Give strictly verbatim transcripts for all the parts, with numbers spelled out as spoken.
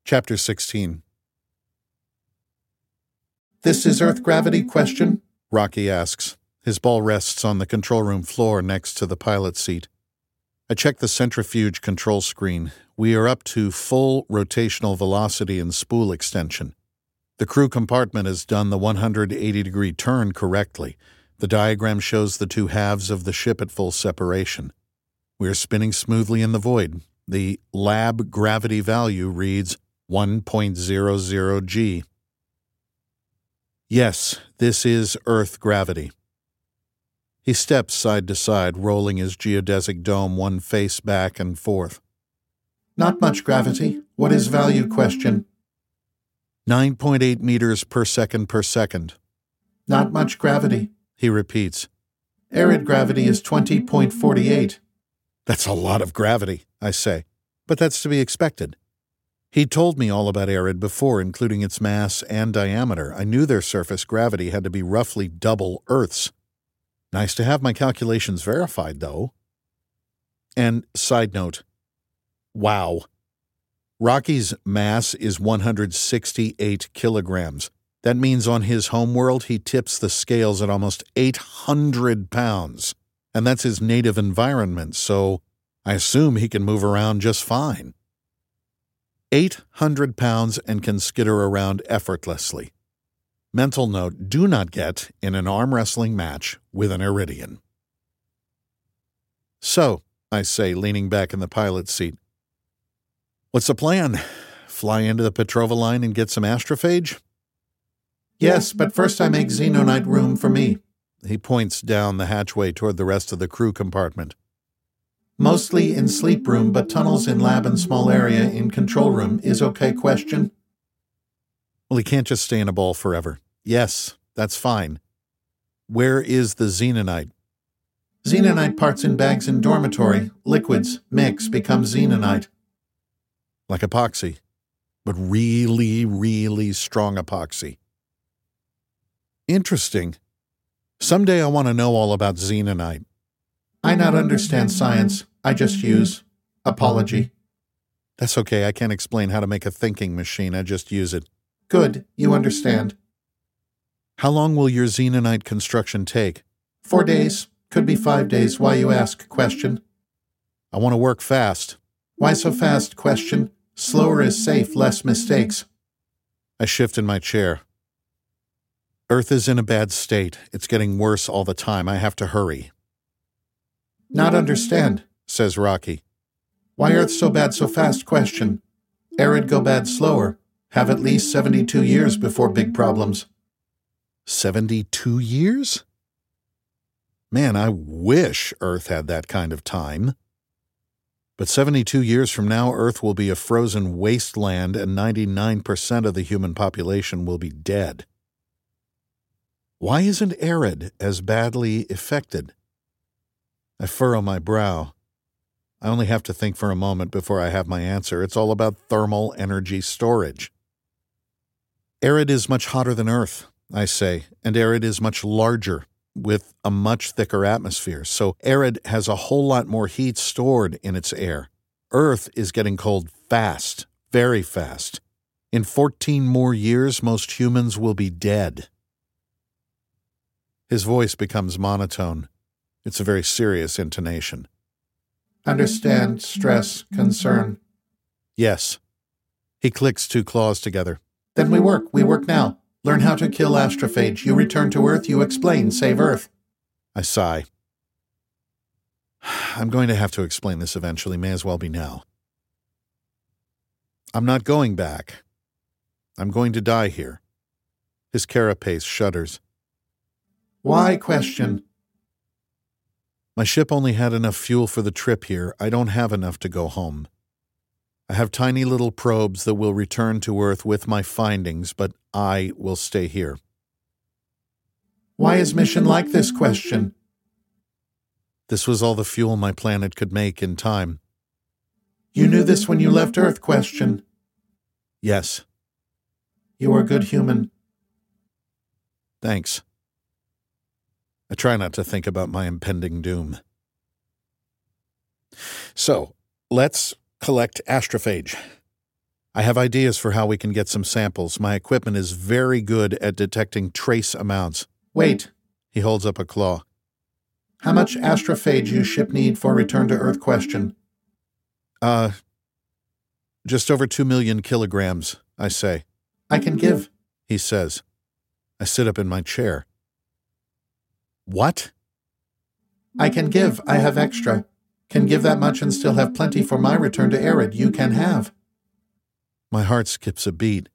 Chapter sixteen. "This is Earth gravity question?" Rocky asks. His ball rests on the control room floor next to the pilot seat. I check the centrifuge control screen. We are up to full rotational velocity and spool extension. The crew compartment has done the one hundred eighty degree turn correctly. The diagram shows the two halves of the ship at full separation. We are spinning smoothly in the void. The lab gravity value reads one point zero zero G. Yes, this is Earth gravity. He steps side to side, rolling his geodesic dome one face back and forth. "Not much gravity. What is value question?" nine point eight meters per second per second. "Not much gravity," he repeats. "Arid gravity is twenty point four eight. "That's a lot of gravity," I say, but that's to be expected. He told me all about Arid before, including its mass and diameter. I knew their surface gravity had to be roughly double Earth's. Nice to have my calculations verified, though. And side note, wow. Rocky's mass is one hundred sixty-eight kilograms. That means on his homeworld he tips the scales at almost eight hundred pounds. And that's his native environment, so I assume he can move around just fine. eight hundred pounds and can skitter around effortlessly. Mental note, do not get in an arm wrestling match with an Iridian. "So," I say, leaning back in the pilot's seat, "what's the plan? Fly into the Petrova line and get some astrophage?" "Yes, but first I make xenonite room for me." He points down the hatchway toward the rest of the crew compartment. "Mostly in sleep room, but tunnels in lab and small area in control room is okay question?" Well, he can't just stay in a ball forever. Yes, that's fine. Where is the xenonite? "Xenonite parts in bags in dormitory. Liquids, mix, become xenonite." Like epoxy, but really, really strong epoxy. Interesting. Someday I want to know all about xenonite. "I not understand science. I just use apology." That's okay. I can't explain how to make a thinking machine. I just use it. "Good. You understand." "How long will your xenonite construction take?" Four days. Could be five days. Why you ask question?" "I want to work fast." "Why so fast question? Slower is safe, less mistakes." I shift in my chair. "Earth is in a bad state. It's getting worse all the time. I have to hurry." "Not understand," says Rocky. "Why Earth so bad so fast question? Arid go bad slower. Have at least seventy-two years before big problems." seventy-two years? Man, I wish Earth had that kind of time. But seventy-two years from now, Earth will be a frozen wasteland and ninety-nine percent of the human population will be dead. Why isn't Arid as badly affected? I furrow my brow. I only have to think for a moment before I have my answer. It's all about thermal energy storage. Arid is much hotter than Earth, I say, and Arid is much larger, with a much thicker atmosphere, so Arid has a whole lot more heat stored in its air. Earth is getting cold fast, very fast. In fourteen more years, most humans will be dead. His voice becomes monotone. It's a very serious intonation. "Understand, stress, concern." "Yes." He clicks two claws together. "Then we work. We work now. Learn how to kill astrophage. You return to Earth. You explain. Save Earth." I sigh. I'm going to have to explain this eventually. May as well be now. I'm not going back. I'm going to die here. His carapace shudders. "Why question?" My ship only had enough fuel for the trip here. I don't have enough to go home. I have tiny little probes that will return to Earth with my findings, but I will stay here. "Why is mission like this question?" This was all the fuel my planet could make in time. "You knew this when you left Earth question?" "Yes." "You are a good human." "Thanks." I try not to think about my impending doom. So, let's collect astrophage. I have ideas for how we can get some samples. My equipment is very good at detecting trace amounts. Wait, he holds up a claw. How much astrophage you ship need for return to Earth question? Uh, just over two million kilograms, I say. I can give, he says. I sit up in my chair. What? I can give. I have extra. Can give that much and still have plenty for my return to Arid. You can have. My heart skips a beat.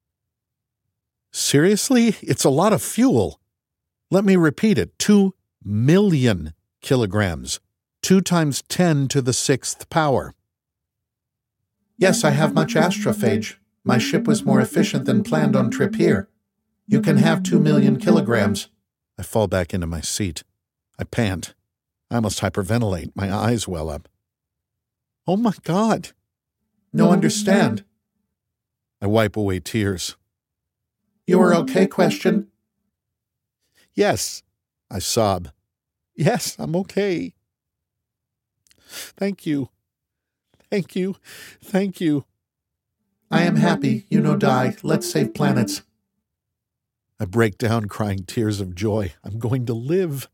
Seriously? It's a lot of fuel. Let me repeat it. Two million kilograms. Two times ten to the sixth power. Yes, I have much astrophage. My ship was more efficient than planned on trip here. You can have two million kilograms. I fall back into my seat. I pant. I almost hyperventilate. My eyes well up. Oh my God. No understand. I wipe away tears. You are okay question? Yes, I sob. Yes, I'm okay. Thank you. Thank you. Thank you. I am happy. You no die. Let's save planets. I break down crying tears of joy. I'm going to live.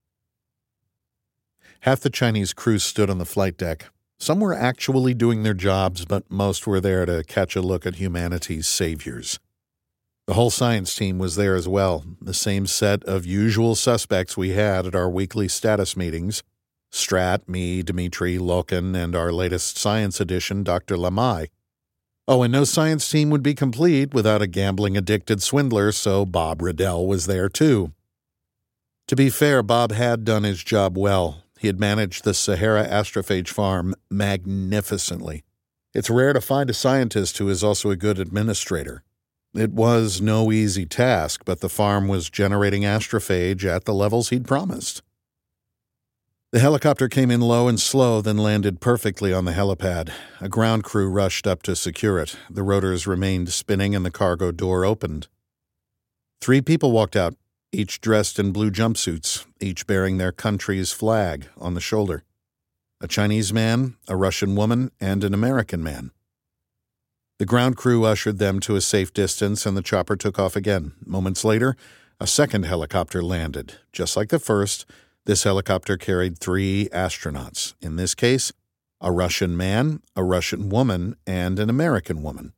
Half the Chinese crew stood on the flight deck. Some were actually doing their jobs, but most were there to catch a look at humanity's saviors. The whole science team was there as well, the same set of usual suspects we had at our weekly status meetings. Strat, me, Dmitri, Loken, and our latest science edition, Doctor Lamai. Oh, and no science team would be complete without a gambling-addicted swindler, so Bob Riddell was there too. To be fair, Bob had done his job well. He had managed the Sahara Astrophage farm magnificently. It's rare to find a scientist who is also a good administrator. It was no easy task, but the farm was generating astrophage at the levels he'd promised. The helicopter came in low and slow, then landed perfectly on the helipad. A ground crew rushed up to secure it. The rotors remained spinning and the cargo door opened. Three people walked out, each dressed in blue jumpsuits, each bearing their country's flag on the shoulder. A Chinese man, a Russian woman, and an American man. The ground crew ushered them to a safe distance and the chopper took off again. Moments later, a second helicopter landed. Just like the first, this helicopter carried three astronauts. In this case, a Russian man, a Russian woman, and an American woman.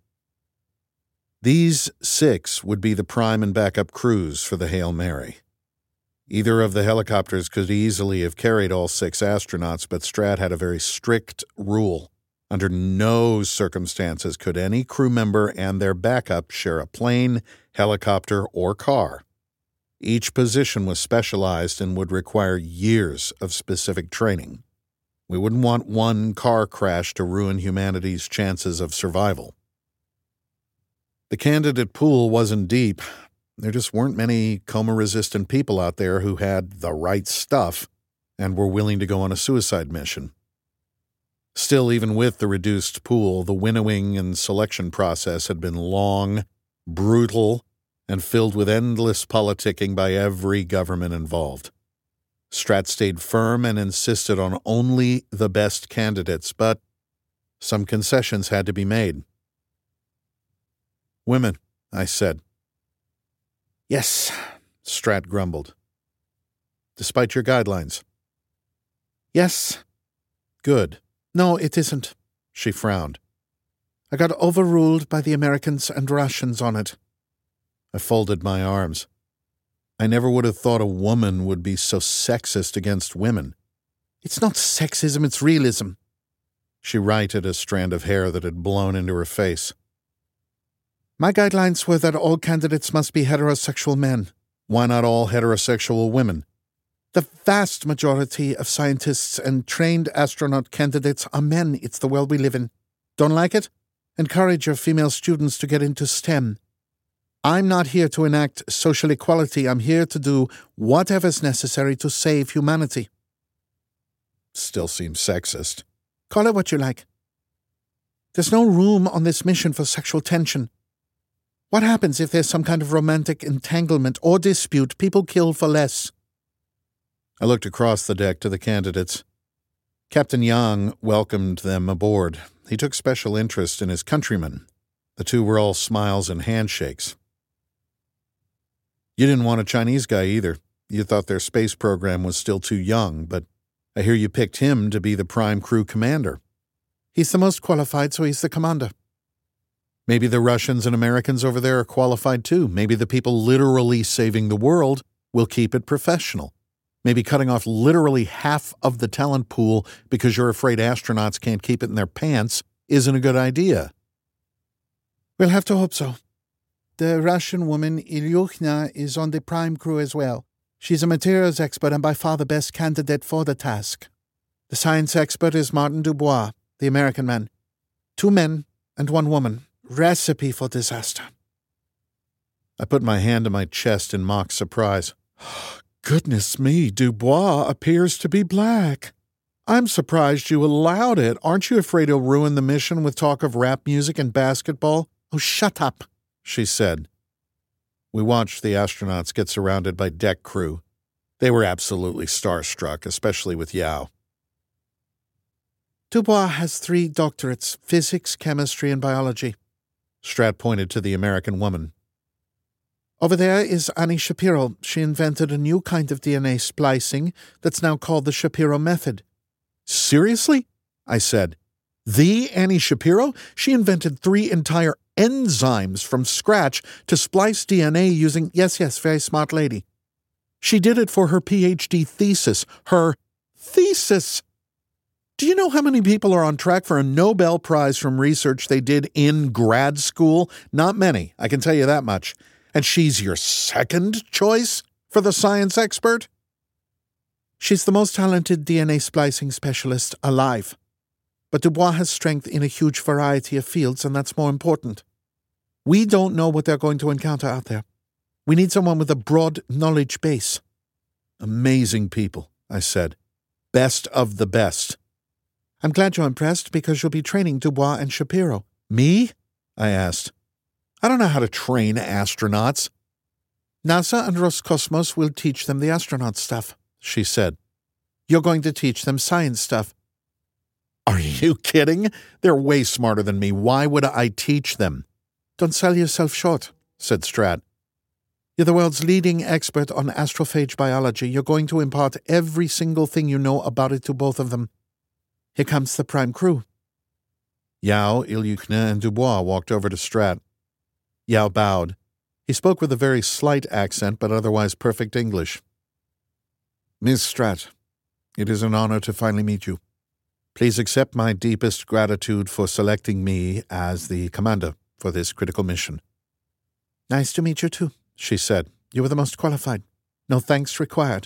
These six would be the prime and backup crews for the Hail Mary. Either of the helicopters could easily have carried all six astronauts, but Strat had a very strict rule. Under no circumstances could any crew member and their backup share a plane, helicopter, or car. Each position was specialized and would require years of specific training. We wouldn't want one car crash to ruin humanity's chances of survival. The candidate pool wasn't deep. There just weren't many coma-resistant people out there who had the right stuff and were willing to go on a suicide mission. Still, even with the reduced pool, the winnowing and selection process had been long, brutal, and filled with endless politicking by every government involved. Strat stayed firm and insisted on only the best candidates, but some concessions had to be made. Women, I said. Yes, Strat grumbled. Despite your guidelines. Yes. Good. No, it isn't, she frowned. I got overruled by the Americans and Russians on it. I folded my arms. I never would have thought a woman would be so sexist against women. It's not sexism, it's realism. She righted a strand of hair that had blown into her face. My guidelines were that all candidates must be heterosexual men. Why not all heterosexual women? The vast majority of scientists and trained astronaut candidates are men. It's the world we live in. Don't like it? Encourage your female students to get into STEM. I'm not here to enact social equality. I'm here to do whatever's necessary to save humanity. Still seems sexist. Call it what you like. There's no room on this mission for sexual tension. What happens if there's some kind of romantic entanglement or dispute? People kill for less. I looked across the deck to the candidates. Captain Yang welcomed them aboard. He took special interest in his countrymen, The two were all smiles and handshakes. You didn't want a Chinese guy either. You thought their space program was still too young, but I hear you picked him to be the prime crew commander. He's the most qualified, so he's the commander. Maybe the Russians and Americans over there are qualified too. Maybe the people literally saving the world will keep it professional. Maybe cutting off literally half of the talent pool because you're afraid astronauts can't keep it in their pants isn't a good idea. We'll have to hope so. The Russian woman, Ilyushna, is on the prime crew as well. She's a materials expert and by far the best candidate for the task. The science expert is Martin Dubois, the American man. Two men and one woman. Recipe for disaster. I put my hand to my chest in mock surprise. Goodness me, Dubois appears to be black. I'm surprised you allowed it. Aren't you afraid he'll ruin the mission with talk of rap music and basketball? Oh, shut up, she said. We watched the astronauts get surrounded by deck crew. They were absolutely starstruck, especially with Yao. Dubois has three doctorates, physics, chemistry, and biology. Strat pointed to the American woman. Over there is Annie Shapiro. She invented a new kind of D N A splicing that's now called the Shapiro method. Seriously? I said. The Annie Shapiro? She invented three entire enzymes from scratch to splice D N A using, yes, yes, very smart lady. She did it for her P H D thesis. Her thesis! Do you know how many people are on track for a Nobel Prize from research they did in grad school? Not many, I can tell you that much. And she's your second choice for the science expert? She's the most talented D N A splicing specialist alive. But Dubois has strength in a huge variety of fields, and that's more important. We don't know what they're going to encounter out there. We need someone with a broad knowledge base. Amazing people, I said. Best of the best. I'm glad you're impressed because you'll be training Dubois and Shapiro. Me? I asked. I don't know how to train astronauts. NASA and Roscosmos will teach them the astronaut stuff, she said. You're going to teach them science stuff. Are you kidding? They're way smarter than me. Why would I teach them? Don't sell yourself short, said Strat. You're the world's leading expert on astrophage biology. You're going to impart every single thing you know about it to both of them. Here comes the prime crew. Yao, Ilyushna, and Dubois walked over to Strat. Yao bowed. He spoke with a very slight accent, but otherwise perfect English. Miss Strat, it is an honor to finally meet you. Please accept my deepest gratitude for selecting me as the commander for this critical mission. Nice to meet you too, she said. You were the most qualified. No thanks required.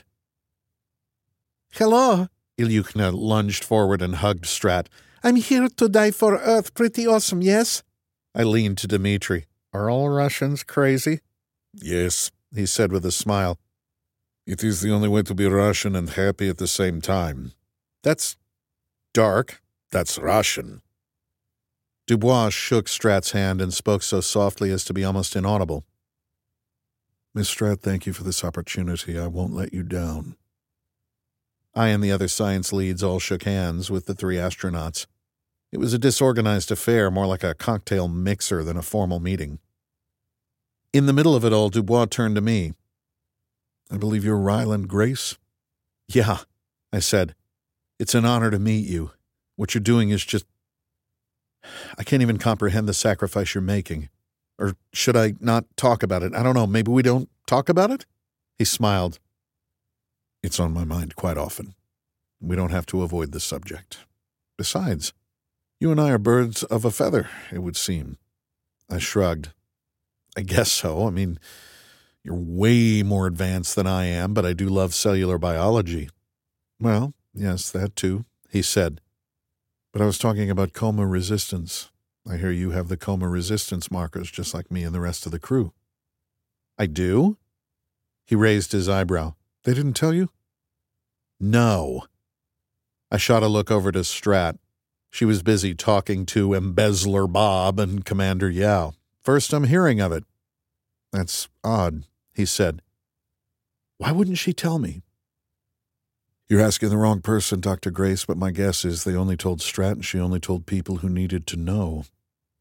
Hello, Ilyushna lunged forward and hugged Strat. I'm here to die for Earth. Pretty awesome, yes? I leaned to Dmitri. Are all Russians crazy? Yes, he said with a smile. It is the only way to be Russian and happy at the same time. That's dark. That's Russian. Dubois shook Strat's hand and spoke so softly as to be almost inaudible. Miss Strat, thank you for this opportunity. I won't let you down. I and the other science leads all shook hands with the three astronauts. It was a disorganized affair, more like a cocktail mixer than a formal meeting. In the middle of it all, Dubois turned to me. I believe you're Ryland Grace? Yeah, I said. It's an honor to meet you. What you're doing is just... I can't even comprehend the sacrifice you're making. Or should I not talk about it? I don't know. Maybe we don't talk about it? He smiled. It's on my mind quite often. We don't have to avoid the subject. Besides, you and I are birds of a feather, it would seem. I shrugged. I guess so. I mean, you're way more advanced than I am, but I do love cellular biology. Well, yes, that too, he said. But I was talking about coma resistance. I hear you have the coma resistance markers just like me and the rest of the crew. I do? He raised his eyebrow. They didn't tell you? No. I shot a look over to Strat. She was busy talking to Embezzler Bob and Commander Yao. First I'm hearing of it. That's odd, he said. Why wouldn't she tell me? You're asking the wrong person, Doctor Grace, but my guess is they only told Strat and she only told people who needed to know.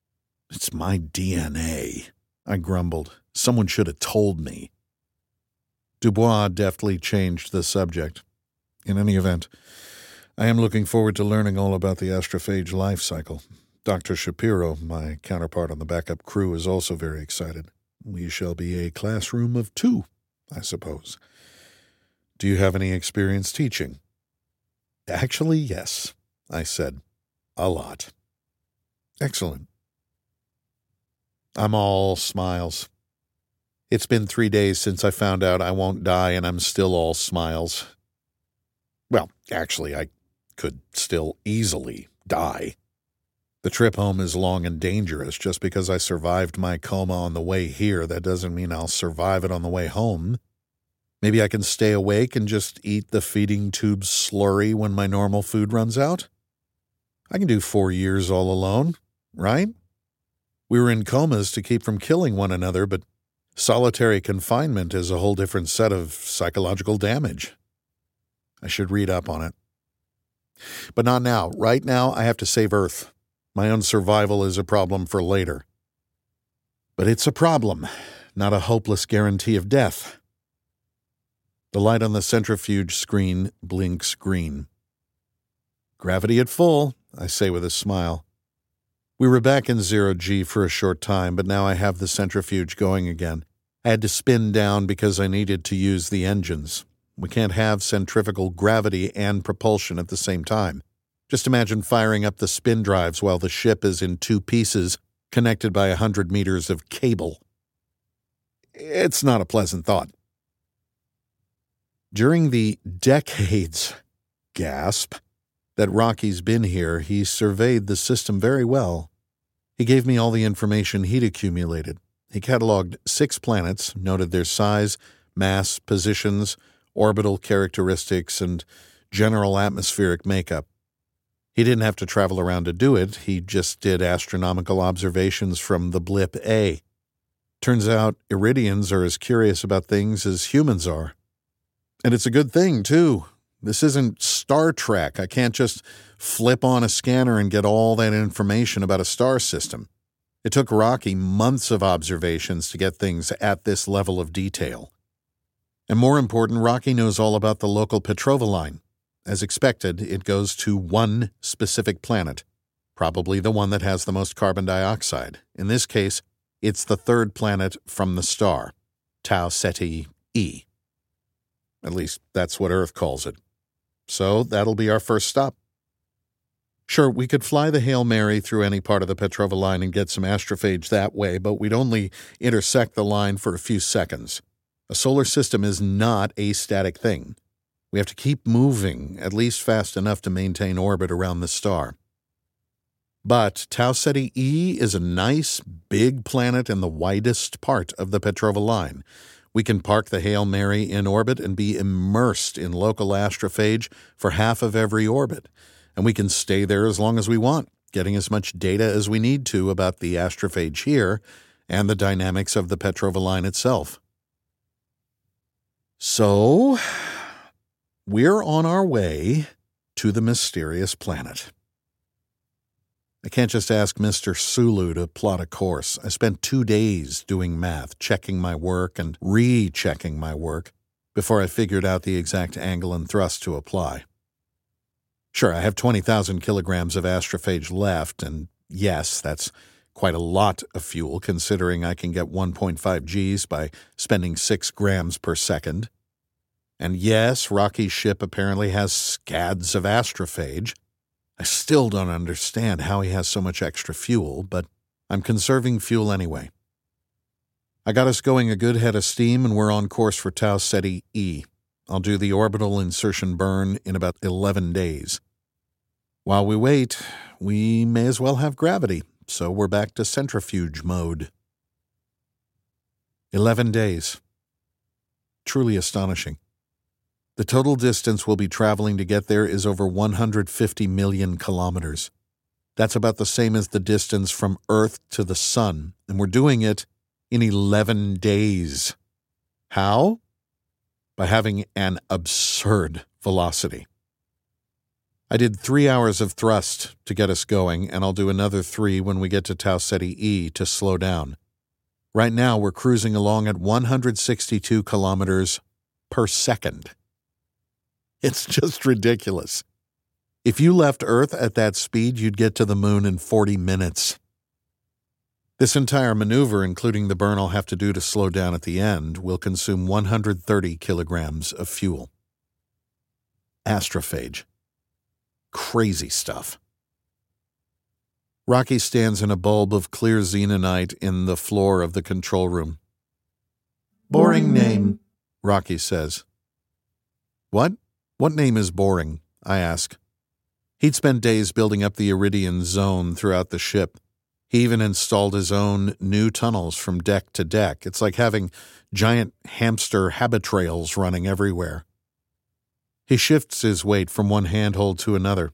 It's my D N A, I grumbled. Someone should have told me. Dubois deftly changed the subject. In any event, I am looking forward to learning all about the astrophage life cycle. Doctor Shapiro, my counterpart on the backup crew, is also very excited. We shall be a classroom of two, I suppose. Do you have any experience teaching? Actually, yes, I said. A lot. Excellent. I'm all smiles. It's been three days since I found out I won't die, and I'm still all smiles. Well, actually, I could still easily die. The trip home is long and dangerous. Just because I survived my coma on the way here, that doesn't mean I'll survive it on the way home. Maybe I can stay awake and just eat the feeding tube slurry when my normal food runs out? I can do four years all alone, right? We were in comas to keep from killing one another, but solitary confinement is a whole different set of psychological damage. I should read up on it. But not now. Right now, I have to save Earth. My own survival is a problem for later. But it's a problem, not a hopeless guarantee of death. The light on the centrifuge screen blinks green. Gravity at full, I say with a smile. We were back in zero G for a short time, but now I have the centrifuge going again. I had to spin down because I needed to use the engines. We can't have centrifugal gravity and propulsion at the same time. Just imagine firing up the spin drives while the ship is in two pieces, connected by a hundred meters of cable. It's not a pleasant thought. During the decades, gasp, that Rocky's been here, he surveyed the system very well. He gave me all the information he'd accumulated. He cataloged six planets, noted their size, mass, positions, orbital characteristics, and general atmospheric makeup. He didn't have to travel around to do it. He just did astronomical observations from the blip A. Turns out Iridians are as curious about things as humans are. And it's a good thing, too. This isn't Star Trek. I can't just flip on a scanner and get all that information about a star system. It took Rocky months of observations to get things at this level of detail. And more important, Rocky knows all about the local Petrova line. As expected, it goes to one specific planet, probably the one that has the most carbon dioxide. In this case, it's the third planet from the star, Tau Ceti E. At least that's what Earth calls it. So that'll be our first stop. Sure, we could fly the Hail Mary through any part of the Petrova line and get some astrophage that way, but we'd only intersect the line for a few seconds. A solar system is not a static thing. We have to keep moving, at least fast enough to maintain orbit around the star. But Tau Ceti E is a nice, big planet in the widest part of the Petrova line. We can park the Hail Mary in orbit and be immersed in local astrophage for half of every orbit. And we can stay there as long as we want, getting as much data as we need to about the astrophage here and the dynamics of the Petrova line itself. So, we're on our way to the mysterious planet. I can't just ask Mister Sulu to plot a course. I spent two days doing math, checking my work and rechecking my work before I figured out the exact angle and thrust to apply. Sure, I have twenty thousand kilograms of astrophage left, and yes, that's quite a lot of fuel considering I can get one point five Gs by spending six grams per second. And yes, Rocky's ship apparently has scads of astrophage. I still don't understand how he has so much extra fuel, but I'm conserving fuel anyway. I got us going a good head of steam, and we're on course for Tau Ceti E. I'll do the orbital insertion burn in about eleven days. While we wait, we may as well have gravity, so we're back to centrifuge mode. Eleven days. Truly astonishing. The total distance we'll be traveling to get there is over one hundred fifty million kilometers. That's about the same as the distance from Earth to the Sun, and we're doing it in eleven days. How? By having an absurd velocity. I did three hours of thrust to get us going, and I'll do another three when we get to Tau Ceti E to slow down. Right now, we're cruising along at one hundred sixty-two kilometers per second. It's just ridiculous. If you left Earth at that speed, you'd get to the moon in forty minutes. This entire maneuver, including the burn I'll have to do to slow down at the end, will consume one hundred thirty kilograms of fuel. Astrophage. Crazy stuff. Rocky stands in a bulb of clear xenonite in the floor of the control room. Boring name, Rocky says. What? What name is boring? I ask. He'd spent days building up the Iridian zone throughout the ship. He even installed his own new tunnels from deck to deck. It's like having giant hamster habitrails running everywhere. He shifts his weight from one handhold to another.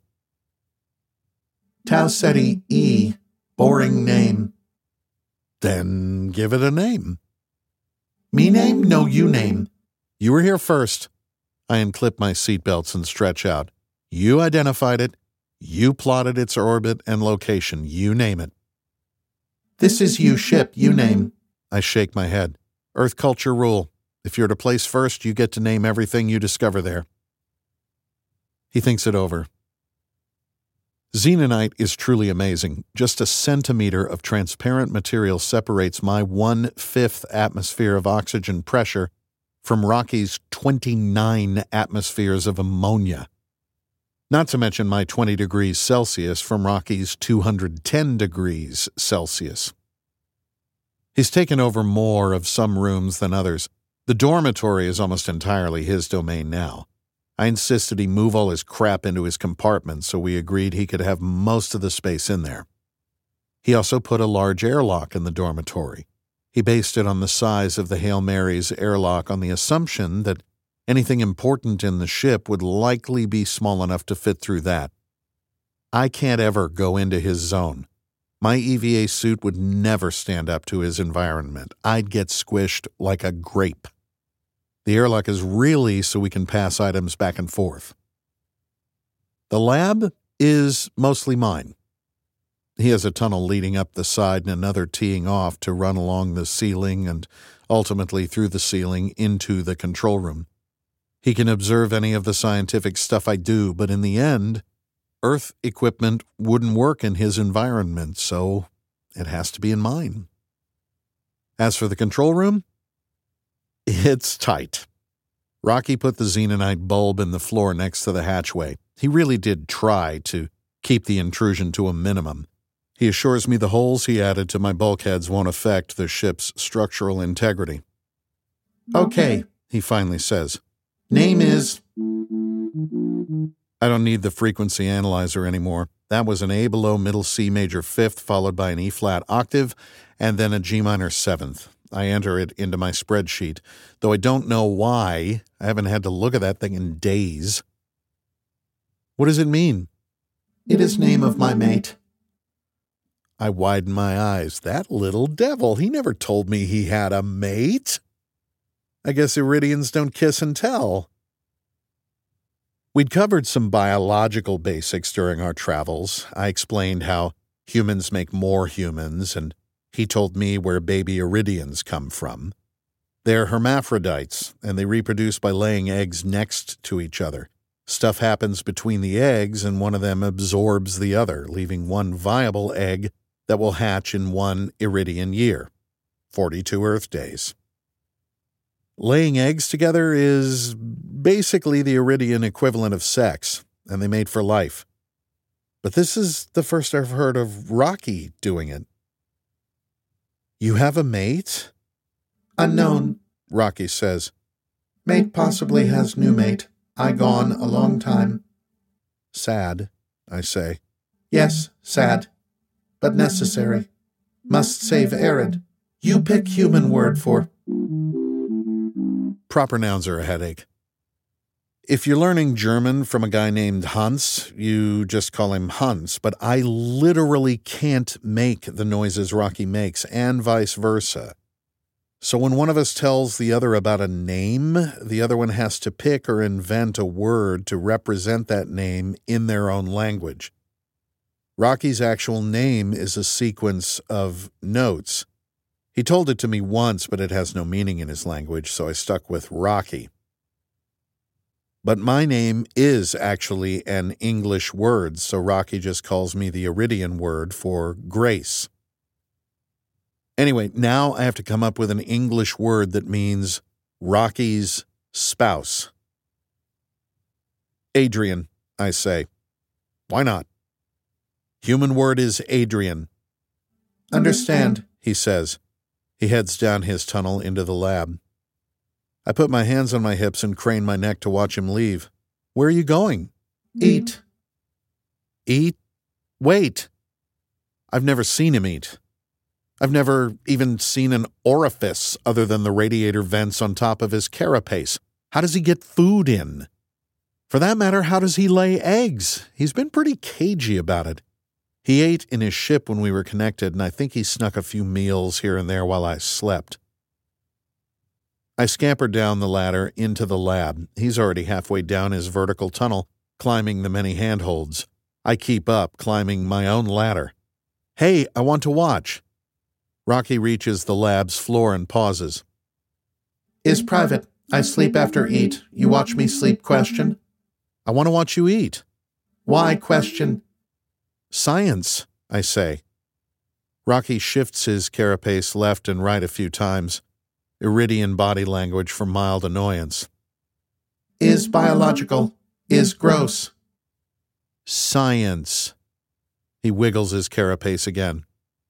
Tau Ceti E. Boring name. Then give it a name. Me name? No, you name. You were here first. I unclip my seatbelts and stretch out. You identified it. You plotted its orbit and location. You name it. This is you ship. You name. I shake my head. Earth culture rule. If you're to place first, you get to name everything you discover there. He thinks it over. Xenonite is truly amazing. Just a centimeter of transparent material separates my one-fifth atmosphere of oxygen pressure from Rocky's twenty-nine atmospheres of ammonia. Not to mention my twenty degrees Celsius from Rocky's two hundred ten degrees Celsius. He's taken over more of some rooms than others. The dormitory is almost entirely his domain now. I insisted he move all his crap into his compartment, so we agreed he could have most of the space in there. He also put a large airlock in the dormitory. He based it on the size of the Hail Mary's airlock on the assumption that anything important in the ship would likely be small enough to fit through that. I can't ever go into his zone. My E V A suit would never stand up to his environment. I'd get squished like a grape. The airlock is really so we can pass items back and forth. The lab is mostly mine. He has a tunnel leading up the side and another teeing off to run along the ceiling and ultimately through the ceiling into the control room. He can observe any of the scientific stuff I do, but in the end, Earth equipment wouldn't work in his environment, so it has to be in mine. As for the control room, it's tight. Rocky put the xenonite bulb in the floor next to the hatchway. He really did try to keep the intrusion to a minimum. He assures me the holes he added to my bulkheads won't affect the ship's structural integrity. Okay, he finally says. Name is... I don't need the frequency analyzer anymore. That was an A below middle C major fifth followed by an E flat octave and then a G minor seventh. I enter it into my spreadsheet, though I don't know why. I haven't had to look at that thing in days. What does it mean? It is name of my mate. I widen my eyes. That little devil, he never told me he had a mate. I guess Iridians don't kiss and tell. We'd covered some biological basics during our travels. I explained how humans make more humans, and he told me where baby Iridians come from. They're hermaphrodites, and they reproduce by laying eggs next to each other. Stuff happens between the eggs, and one of them absorbs the other, leaving one viable egg that will hatch in one Iridian year, forty-two Earth days. Laying eggs together is basically the Iridian equivalent of sex, and they mate for life. But this is the first I've heard of Rocky doing it. You have a mate? Unknown, Rocky says. Mate possibly has new mate. I gone a long time. Sad, I say. Yes, sad, but necessary. Must save Arid. You pick human word for. Proper nouns are a headache. If you're learning German from a guy named Hans, you just call him Hans, but I literally can't make the noises Rocky makes, and vice versa. So when one of us tells the other about a name, the other one has to pick or invent a word to represent that name in their own language. Rocky's actual name is a sequence of notes. He told it to me once, but it has no meaning in his language, so I stuck with Rocky. But my name is actually an English word, so Rocky just calls me the Iridian word for grace. Anyway, now I have to come up with an English word that means Rocky's spouse. Adrian, I say. Why not? Human word is Adrian. Understand, he says. He heads down his tunnel into the lab. I put my hands on my hips and crane my neck to watch him leave. Where are you going? Eat. Eat? Wait. I've never seen him eat. I've never even seen an orifice other than the radiator vents on top of his carapace. How does he get food in? For that matter, how does he lay eggs? He's been pretty cagey about it. He ate in his ship when we were connected, and I think he snuck a few meals here and there while I slept. I scampered down the ladder into the lab. He's already halfway down his vertical tunnel, climbing the many handholds. I keep up, climbing my own ladder. Hey, I want to watch. Rocky reaches the lab's floor and pauses. Is private. I sleep after eat. You watch me sleep question? I want to watch you eat. Why question? Science, I say. Rocky shifts his carapace left and right a few times. Iridian body language for mild annoyance. Is biological. Is gross. Science. He wiggles his carapace again.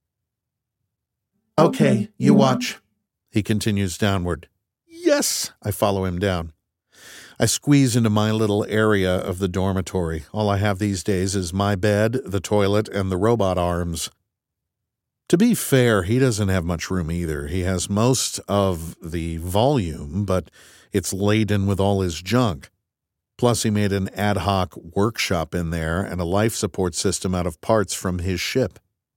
Okay, you watch. He continues downward. Yes, I follow him down. I squeeze into my little area of the dormitory. All I have these days is my bed, the toilet, and the robot arms. To be fair, he doesn't have much room either. He has most of the volume, but it's laden with all his junk. Plus, he made an ad hoc workshop in there and a life support system out of parts from his ship.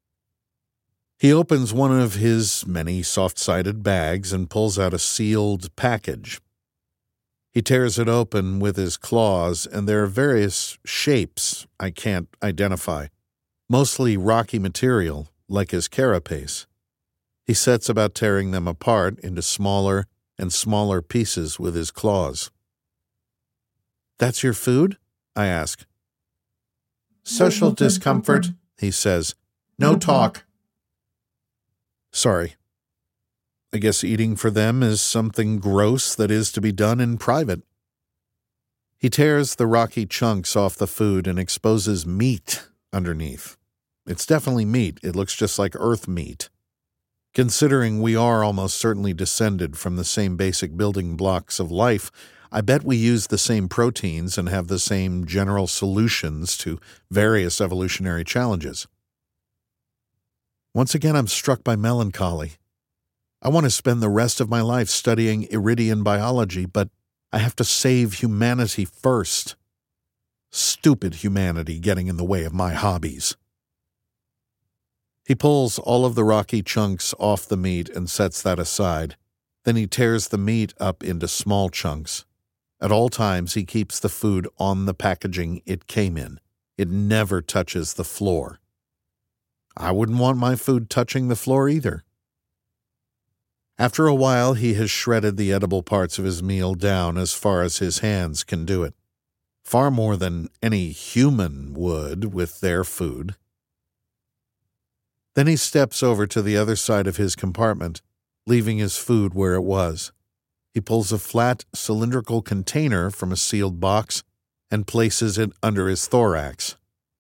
He opens one of his many soft-sided bags and pulls out a sealed package. He tears it open with his claws, and there are various shapes I can't identify, mostly rocky material, like his carapace. He sets about tearing them apart into smaller and smaller pieces with his claws. That's your food? I ask. Social discomfort, he says. No talk. Sorry. I guess eating for them is something gross that is to be done in private. He tears the rocky chunks off the food and exposes meat underneath. It's definitely meat. It looks just like earth meat. Considering we are almost certainly descended from the same basic building blocks of life, I bet we use the same proteins and have the same general solutions to various evolutionary challenges. Once again, I'm struck by melancholy. I want to spend the rest of my life studying Iridian biology, but I have to save humanity first. Stupid humanity getting in the way of my hobbies. He pulls all of the rocky chunks off the meat and sets that aside. Then he tears the meat up into small chunks. At all times, he keeps the food on the packaging it came in. It never touches the floor. I wouldn't want my food touching the floor either. After a while, he has shredded the edible parts of his meal down as far as his hands can do it. Far more than any human would with their food. Then he steps over to the other side of his compartment, leaving his food where it was. He pulls a flat, cylindrical container from a sealed box and places it under his thorax.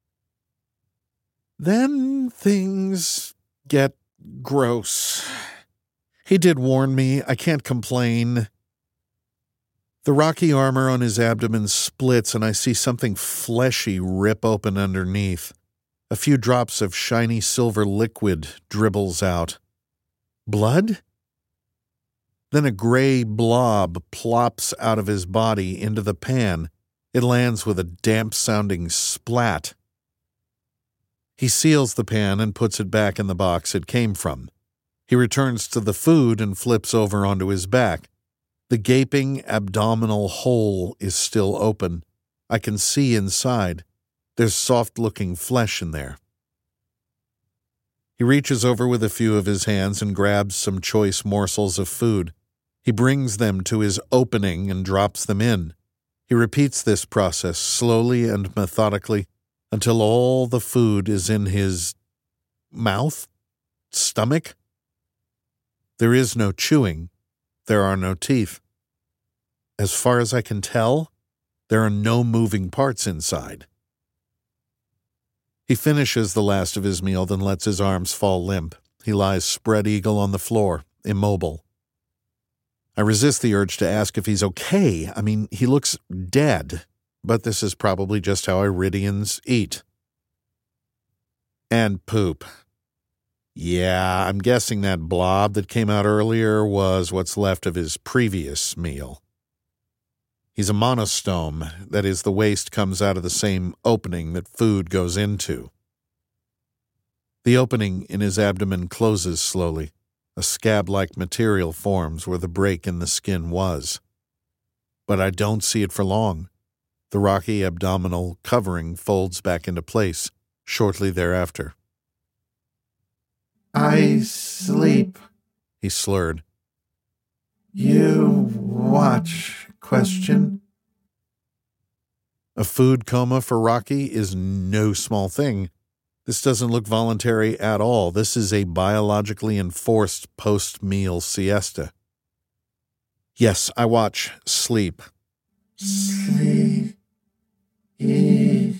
Then things get gross. He did warn me. I can't complain. The rocky armor on his abdomen splits and I see something fleshy rip open underneath. A few drops of shiny silver liquid dribbles out. Blood? Then a gray blob plops out of his body into the pan. It lands with a damp-sounding splat. He seals the pan and puts it back in the box it came from. He returns to the food and flips over onto his back. The gaping abdominal hole is still open. I can see inside. There's soft-looking flesh in there. He reaches over with a few of his hands and grabs some choice morsels of food. He brings them to his opening and drops them in. He repeats this process slowly and methodically until all the food is in his mouth, stomach. There is no chewing. There are no teeth. As far as I can tell, there are no moving parts inside. He finishes the last of his meal, then lets his arms fall limp. He lies spread eagle on the floor, immobile. I resist the urge to ask if he's okay. I mean, he looks dead, but this is probably just how Iridians eat. And poop. Yeah, I'm guessing that blob that came out earlier was what's left of his previous meal. He's a monostome, that is, the waste comes out of the same opening that food goes into. The opening in his abdomen closes slowly. A scab-like material forms where the break in the skin was. But I don't see it for long. The rocky abdominal covering folds back into place shortly thereafter. I sleep, he slurred. You watch, question. A food coma for Rocky is no small thing. This doesn't look voluntary at all. This is a biologically enforced post-meal siesta. Yes, I watch. Sleep. Sleep. He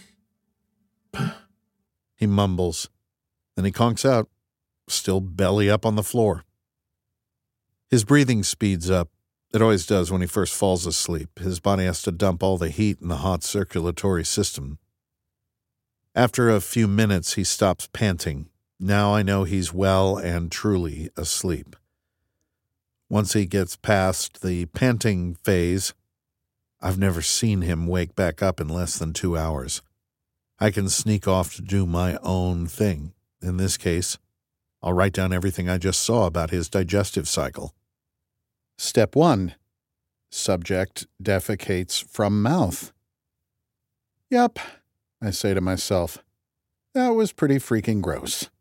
mumbles. Then he conks out, still belly up on the floor. His breathing speeds up. It always does when he first falls asleep. His body has to dump all the heat in the hot circulatory system. After a few minutes, he stops panting. Now I know he's well and truly asleep. Once he gets past the panting phase, I've never seen him wake back up in less than two hours. I can sneak off to do my own thing. In this case, I'll write down everything I just saw about his digestive cycle. Step one. Subject defecates from mouth. Yup, I say to myself. That was pretty freaking gross.